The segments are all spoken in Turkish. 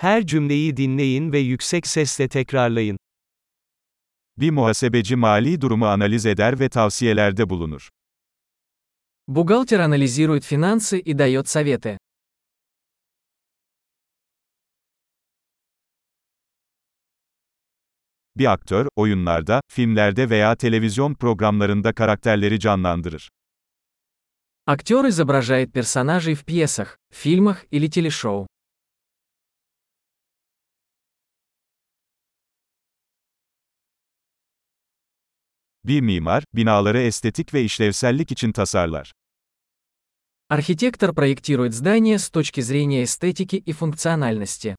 Her cümleyi dinleyin ve yüksek sesle tekrarlayın. Bir muhasebeci mali durumu analiz eder ve tavsiyelerde bulunur. Бухгалтер анализирует финансы и дает советы. Bir aktör, oyunlarda, filmlerde veya televizyon programlarında karakterleri canlandırır. Актер изображает персонажей в пьесах, фильмах или телешоу. Bir mimar, binaları estetik ve işlevsellik için tasarlar. Архитектор проектирует здания с точки зрения эстетики и функциональности.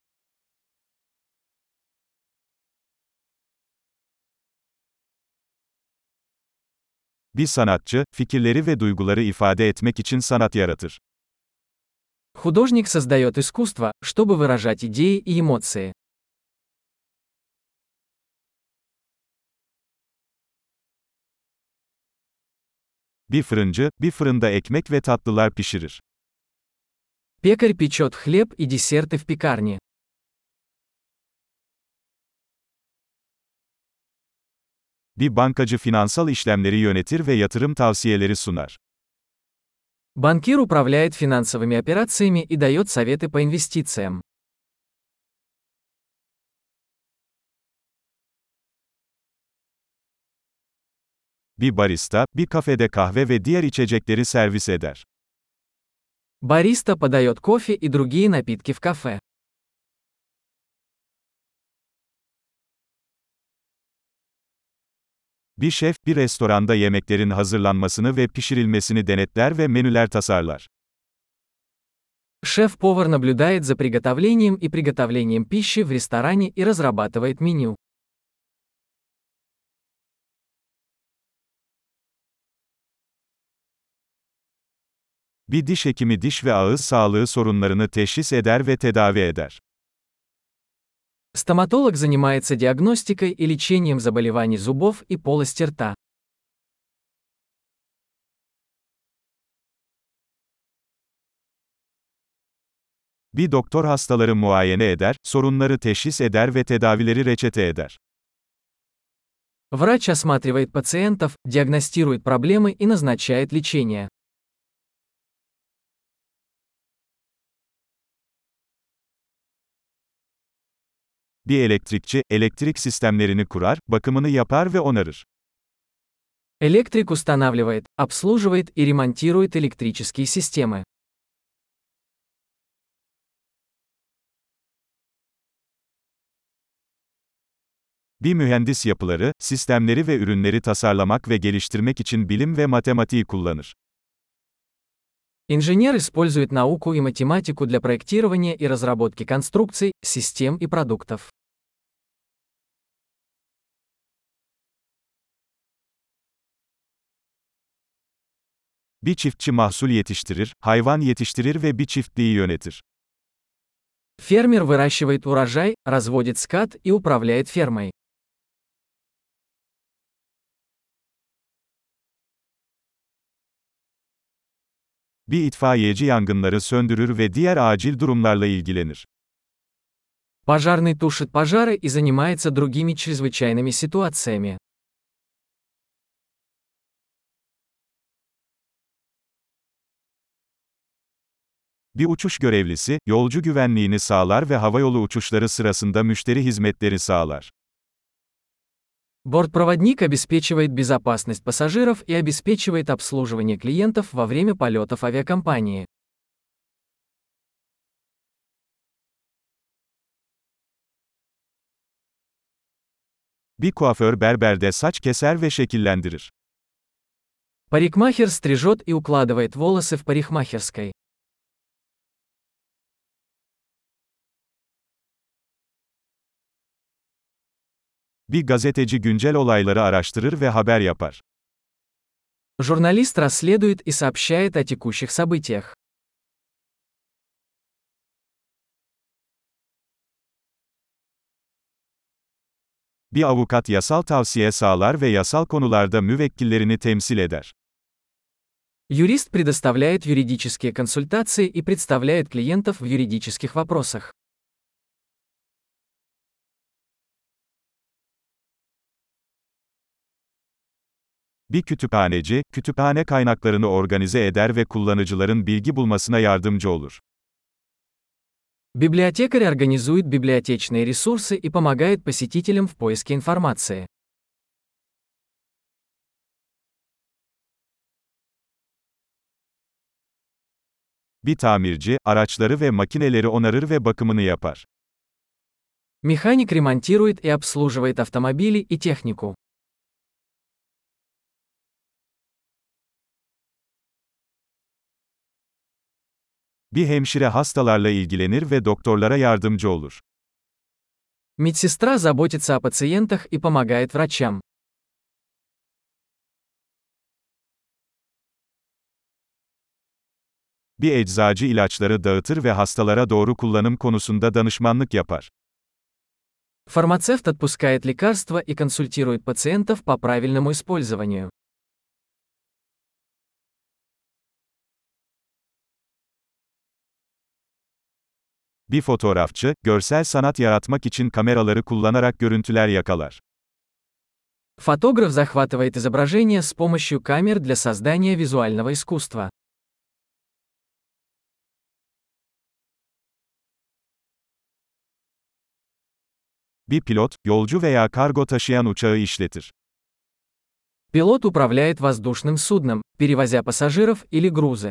Bir sanatçı, fikirleri ve duyguları ifade etmek için sanat yaratır. Художник создает искусство, чтобы выражать идеи и эмоции. Bir fırıncı, bir fırında ekmek ve tatlılar pişirir. Пекарь печет хлеб и десерты в пекарне. Bir bankacı finansal işlemleri yönetir ve yatırım tavsiyeleri sunar. Банкир управляет финансовыми операциями и дает советы по инвестициям. Bir barista, bir kafede kahve ve diğer içecekleri servis eder. Бариста подает кофе и другие напитки в кафе. Bir şef, bir restoranda yemeklerin hazırlanmasını ve pişirilmesini denetler ve menüler tasarlar. Шеф-повар наблюдает за приготовлением и приготовлением пищи в ресторане и разрабатывает меню. Bir diş hekimi diş ve ağız sağlığı sorunlarını teşhis eder ve tedavi eder. Стоматолог занимается диагностикой и лечением заболеваний зубов и полости рта. Bir doktor hastaları muayene eder, sorunları teşhis eder ve tedavileri reçete eder. Врач осматривает пациентов, диагностирует проблемы и назначает лечение. Bir elektrikçi, elektrik sistemlerini kurar, bakımını yapar ve onarır. Электрик устанавливает, обслуживает и ремонтирует электрические системы. Bir mühendis yapıları, sistemleri ve ürünleri tasarlamak ve geliştirmek için bilim ve matematiği kullanır. Инженер использует науку и математику для проектирования и разработки конструкций, систем и продуктов. Bir çiftçi mahsul yetiştirir, hayvan yetiştirir ve bir çiftliği yönetir. Фермер выращивает урожай, разводит скот и управляет фермой. Bir itfaiyeci yangınları söndürür ve diğer acil durumlarla ilgilenir. Пожарный тушит пожары и занимается другими чрезвычайными ситуациями. Bir uçuş görevlisi, yolcu güvenliğini sağlar ve havayolu uçuşları sırasında müşteri hizmetleri sağlar. Бортпроводник обеспечивает безопасность пассажиров и обеспечивает обслуживание клиентов во время полетов авиакомпании. Bir kuaför berberde saç keser ve şekillendirir. Парикмахер стрижет и укладывает волосы в парикмахерской. Bir gazeteci güncel olayları araştırır ve haber yapar. Журналист расследует и сообщает о текущих событиях. Bir avukat yasal tavsiye sağlar ve yasal konularda müvekkillerini temsil eder. Юрист предоставляет юридические консультации и представляет клиентов в юридических вопросах. Bir kütüphaneci, kütüphane kaynaklarını organize eder ve kullanıcıların bilgi bulmasına yardımcı olur. Библиотекарь организует библиотечные ресурсы и помогает посетителям в поиске информации. Bir tamirci, araçları ve makineleri onarır ve bakımını yapar. Механик ремонтирует и обслуживает автомобили и технику. Bir hemşire hastalarla ilgilenir ve doktorlara yardımcı olur. Медсестра заботится о пациентах и помогает врачам. Bir eczacı ilaçları dağıtır ve hastalara doğru kullanım konusunda danışmanlık yapar. Фармацевт отпускает лекарства и консультирует пациентов по правильному использованию. Bir fotoğrafçı, görsel sanat yaratmak için kameraları kullanarak görüntüler yakalar. Фотограф захватывает изображение с помощью камер для создания визуального искусства. Bir pilot, yolcu veya kargo taşıyan uçağı işletir. Пилот управляет воздушным судном, перевозя пассажиров или грузы.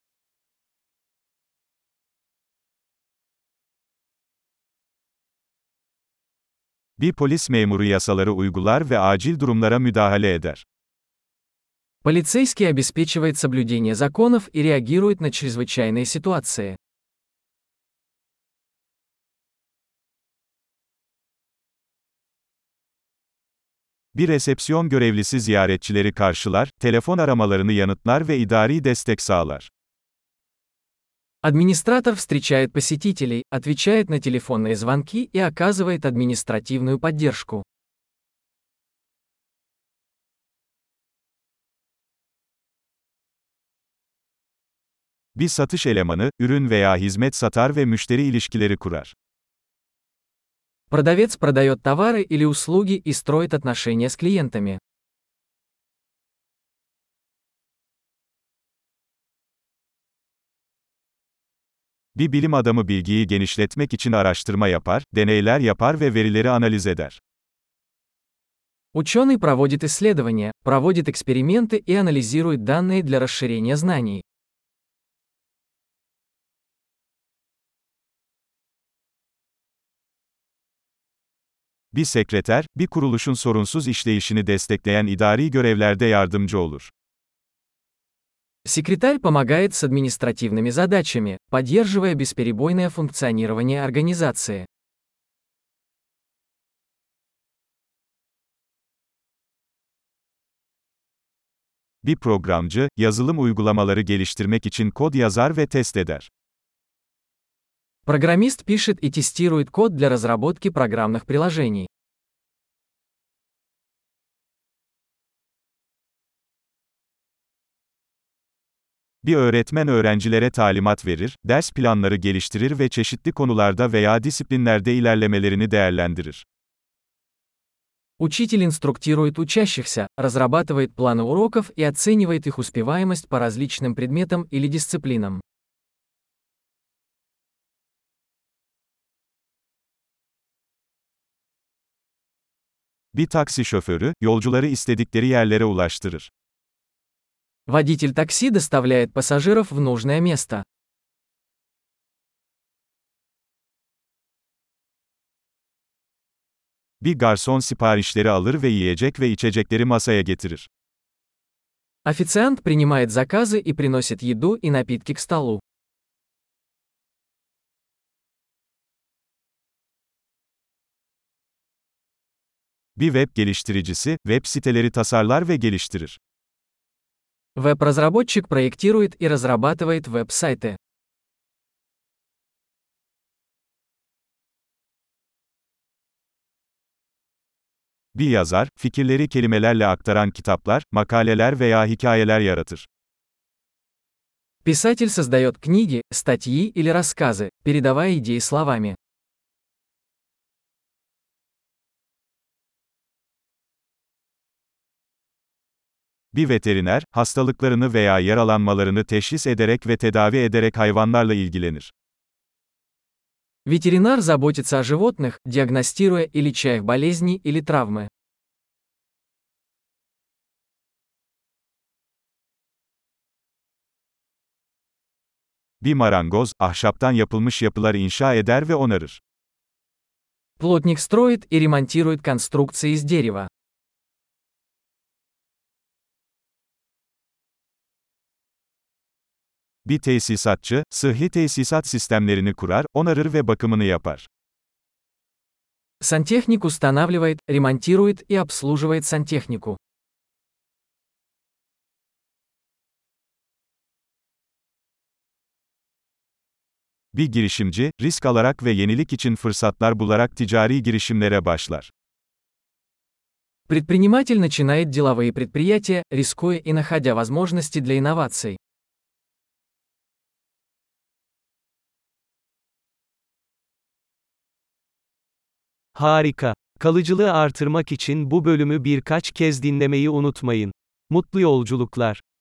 Bir polis memuru yasaları uygular ve acil durumlara müdahale eder. Полицейский обеспечивает соблюдение законов и реагирует на чрезвычайные ситуации. Bir resepsiyon görevlisi ziyaretçileri karşılar, telefon aramalarını yanıtlar ve idari destek sağlar. Администратор встречает посетителей, отвечает на телефонные звонки и оказывает административную поддержку. Bir satış elemanı, ürün veya hizmet satar ve müşteri ilişkileri kurar. Продавец продает товары или услуги и строит отношения с клиентами. Bir bilim adamı bilgiyi genişletmek için araştırma yapar, deneyler yapar ve verileri analiz eder. Ученый проводит исследования, проводит эксперименты и анализирует данные для расширения знаний. Bir sekreter, bir kuruluşun sorunsuz işleyişini destekleyen idari görevlerde yardımcı olur. Секретарь помогает с административными задачами, поддерживая бесперебойное функционирование организации. Bir programcı, yazılım uygulamaları geliştirmek için kod yazar ve test eder. Программист пишет и тестирует код для разработки программных приложений. Bir öğretmen öğrencilere talimat verir, ders planları geliştirir ve çeşitli konularda veya disiplinlerde ilerlemelerini değerlendirir. Учитель инструктирует учащихся, разрабатывает планы уроков и оценивает их успеваемость по различным предметам или дисциплинам. Bir taksi şoförü, yolcuları istedikleri yerlere ulaştırır. Водитель такси доставляет пассажиров в нужное место. Bir garson siparişleri alır ve yiyecek ve içecekleri masaya getirir. Официант принимает заказы и приносит еду и напитки к столу. Bir web geliştiricisi, web siteleri tasarlar ve geliştirir. Веб-разработчик проектирует и разрабатывает веб-сайты. Bir yazar, fikirleri kelimelerle aktaran kitaplar, makaleler veya hikayeler yaratır. Писатель создает книги, статьи или рассказы, передавая идеи словами. Bir veteriner, hastalıklarını veya yaralanmalarını teşhis ederek ve tedavi ederek hayvanlarla ilgilenir. Ветеринар заботится о животных, диагностируя и леча их болезни или травмы. Bir marangoz, ahşaptan yapılmış yapılar inşa eder ve onarır. Плотник строит и ремонтирует конструкции из дерева. Bir tesisatçı, sıhhi tesisat sistemlerini kurar, onarır ve bakımını yapar. Сантехник устанавливает, ремонтирует и обслуживает сантехнику. Bir girişimci, risk alarak ve yenilik için fırsatlar bularak ticari girişimlere başlar. Предприниматель начинает деловые предприятия, рискуя и находя возможности для инноваций. Harika. Kalıcılığı artırmak için bu bölümü birkaç kez dinlemeyi unutmayın. Mutlu yolculuklar.